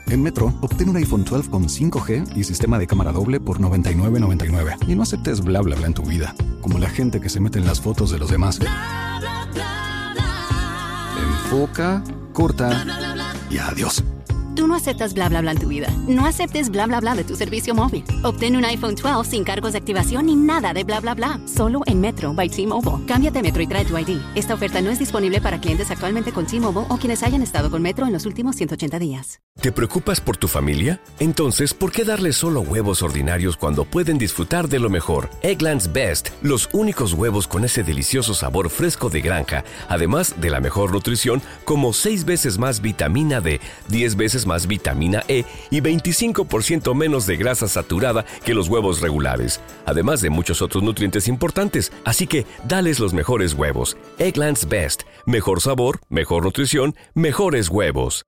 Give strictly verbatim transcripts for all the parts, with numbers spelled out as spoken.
En Metro, obtén un iPhone doce con cinco G y sistema de cámara doble por noventa y nueve noventa y nueve. Y no aceptes bla bla bla en tu vida, como la gente que se mete en las fotos de los demás. Bla, bla, bla, bla. Enfoca, corta Bla, bla, bla, bla. y adiós. Tú no aceptas bla bla bla en tu vida. No aceptes bla bla bla de tu servicio móvil. Obtén un iPhone doce sin cargos de activación ni nada de bla bla bla. Solo en Metro by T-Mobile. Cámbiate a Metro y trae tu I D. Esta oferta no es disponible para clientes actualmente con T-Mobile o quienes hayan estado con Metro en los últimos ciento ochenta días. ¿Te preocupas por tu familia? Entonces, ¿por qué darles solo huevos ordinarios cuando pueden disfrutar de lo mejor? Eggland's Best, los únicos huevos con ese delicioso sabor fresco de granja, además de la mejor nutrición, como seis veces más vitamina D, diez veces más vitamina E y veinticinco por ciento menos de grasa saturada que los huevos regulares, además de muchos otros nutrientes importantes. Así que, dales los mejores huevos. Eggland's Best, mejor sabor, mejor nutrición, mejores huevos.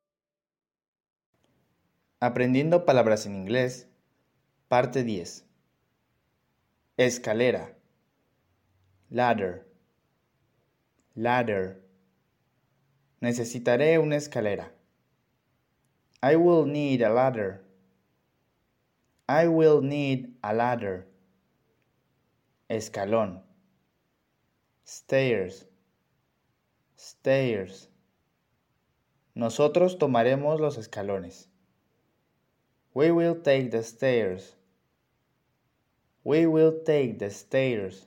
Aprendiendo palabras en inglés, parte diez. Escalera. Ladder. Ladder. Necesitaré una escalera. I will need a ladder. I will need a ladder. Escalón. Stairs. Stairs. Nosotros tomaremos los escalones. We will take the stairs. We will take the stairs.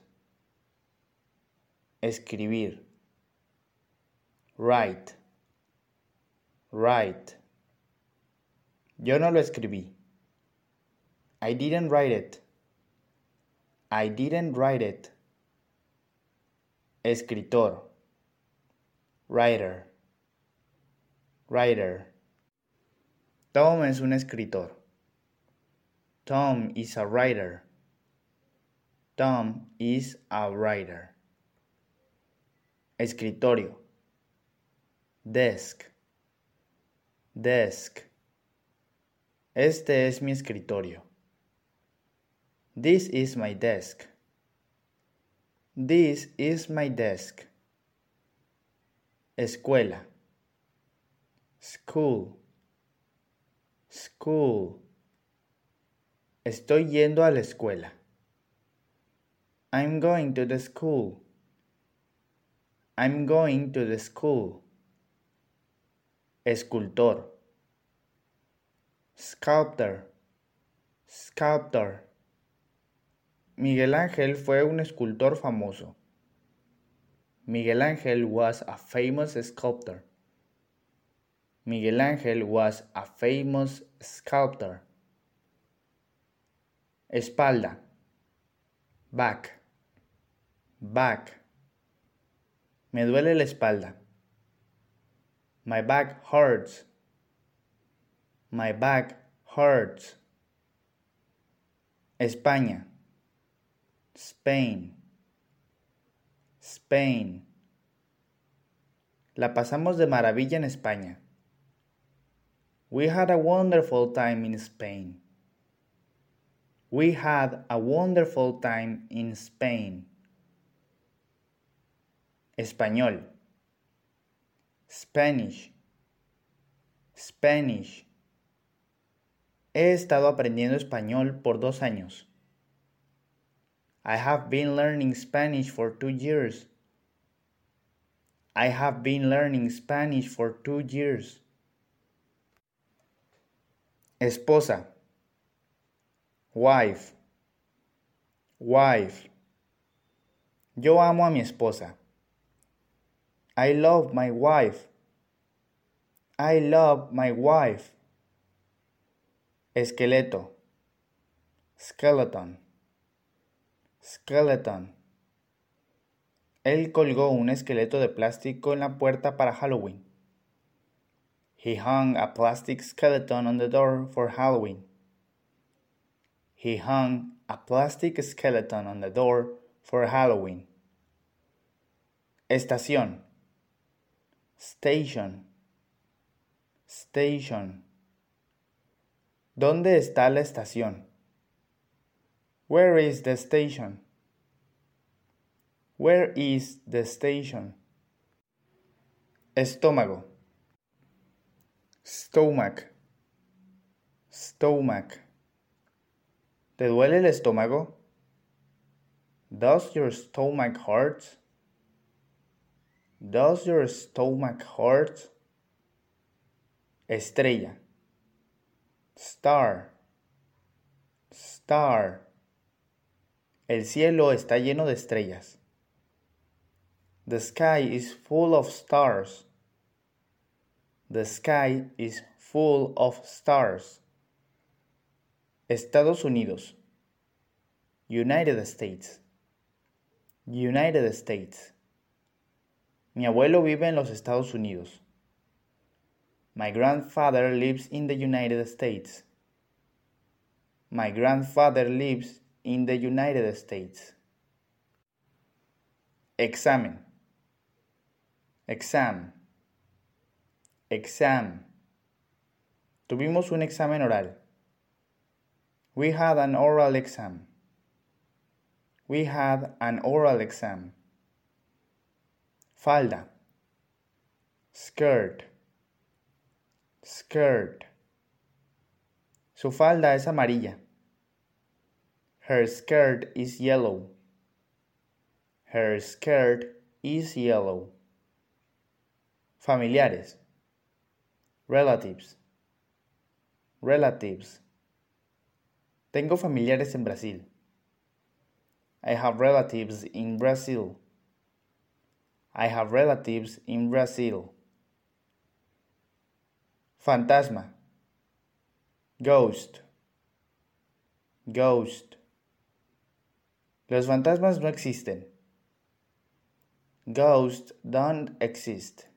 Escribir. Write. Write. Yo no lo escribí. I didn't write it. I didn't write it. Escritor. Writer. Writer. Tom es un escritor. Tom is a writer. Tom is a writer. Escritorio. Desk. Desk. Este es mi escritorio. This is my desk. This is my desk. Escuela. School. School. Estoy yendo a la escuela. I'm going to the school. I'm going to the school. Escultor. Sculptor. Sculptor. Miguel Ángel fue un escultor famoso. Miguel Ángel was a famous sculptor. Miguel Ángel was a famous sculptor. Espalda. Back. Back. Me duele la espalda. My back hurts. My back hurts. España. Spain. Spain. La pasamos de maravilla en España. We had a wonderful time in Spain. We had a wonderful time in Spain. Español. Spanish. Spanish. He estado aprendiendo español por dos años. I have been learning Spanish for two years. I have been learning Spanish for two years. Esposa. Wife. Wife. Yo amo a mi esposa. I love my wife. I love my wife. Esqueleto. Skeleton. Skeleton. Él colgó un esqueleto de plástico en la puerta para Halloween. He hung a plastic skeleton on the door for Halloween. He hung a plastic skeleton on the door for Halloween. Estación. Station. Station. ¿Dónde está la estación? Where is the station? Where is the station? Estómago. Stomach. Stomach. ¿Te duele el estómago? Does your stomach hurt? Does your stomach hurt? Estrella. Star. Star. El cielo está lleno de estrellas. The sky is full of stars. The sky is full of stars. Estados Unidos. United States. United States. Mi abuelo vive en los Estados Unidos. My grandfather lives in the United States. My grandfather lives in the United States. Examen. Exam. Exam. Tuvimos un examen oral. We had an oral exam. We had an oral exam. Falda. Skirt. Skirt. Su falda es amarilla. Her skirt is yellow. Her skirt is yellow. Familiares. Relatives. Relatives. Tengo familiares en Brasil. I have relatives in Brazil. I have relatives in Brazil. Fantasma. Ghost. Ghost. Los fantasmas no existen. Ghosts don't exist.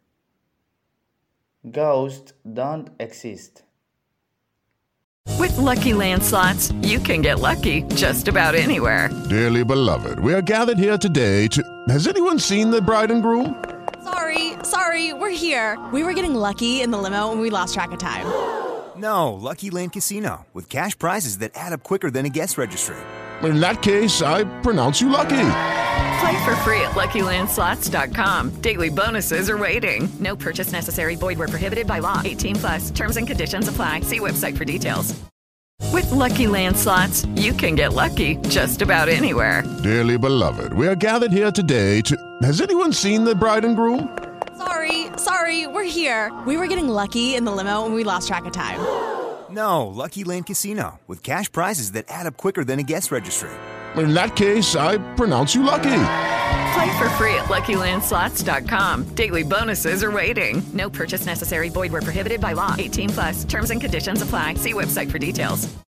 Ghosts don't exist. With Lucky Land Slots, you can get lucky just about anywhere. Dearly beloved, we are gathered here today to... Has anyone seen the bride and groom? Sorry, sorry, we're here. We were getting lucky in the limo and we lost track of time. No, Lucky Land Casino, with cash prizes that add up quicker than a guest registry. In that case, I pronounce you lucky. Play for free at Lucky Land Slots dot com. Daily bonuses are waiting. No purchase necessary. Void where prohibited by law. eighteen plus. Terms and conditions apply. See website for details. With Lucky Land Slots, you can get lucky just about anywhere. Dearly beloved, we are gathered here today to... Has anyone seen the bride and groom? Sorry, sorry, we're here. We were getting lucky in the limo and we lost track of time. No, Lucky Land Casino, with cash prizes that add up quicker than a guest registry. In that case, I pronounce you lucky. Play for free at Lucky Land Slots dot com. Daily bonuses are waiting. No purchase necessary. Void where prohibited by law. eighteen plus. Terms and conditions apply. See website for details.